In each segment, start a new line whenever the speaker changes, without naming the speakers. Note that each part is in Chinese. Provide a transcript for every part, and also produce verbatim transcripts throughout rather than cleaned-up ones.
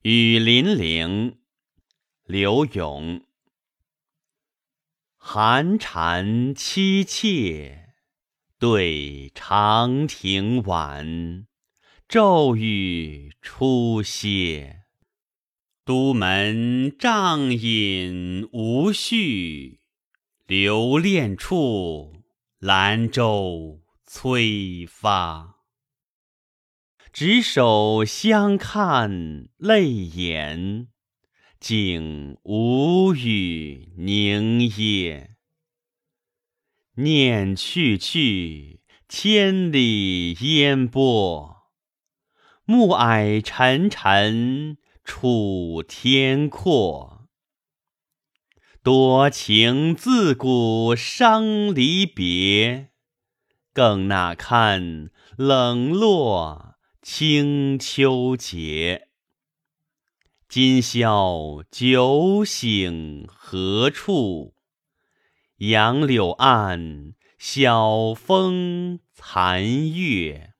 雨霖铃，刘永。寒蝉凄切，对长亭晚，骤雨初歇。都门帐饮无绪，留恋处，兰舟催发。执手相看泪眼，竟无语凝噎。念去去，千里烟波，暮霭沉沉，楚天阔。多情自古伤离别，更那堪冷落清秋节。今宵酒醒何处？杨柳岸，晓风残月。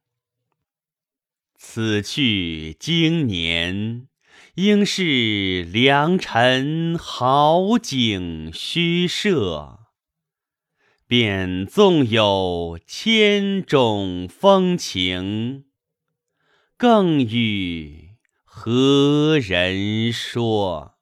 此去经年，应是良辰好景虚设。便纵有千种风情，更与何人说？